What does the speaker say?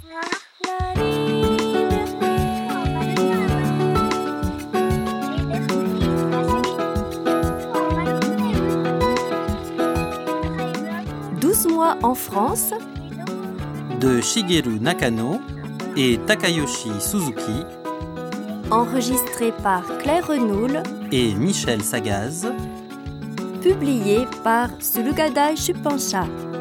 « 12 mois en France » de Shigeru Nakano et Takayoshi Suzuki, enregistré par Claire Renoul et Michel Sagaz, publié par Sulugadai Shupansha.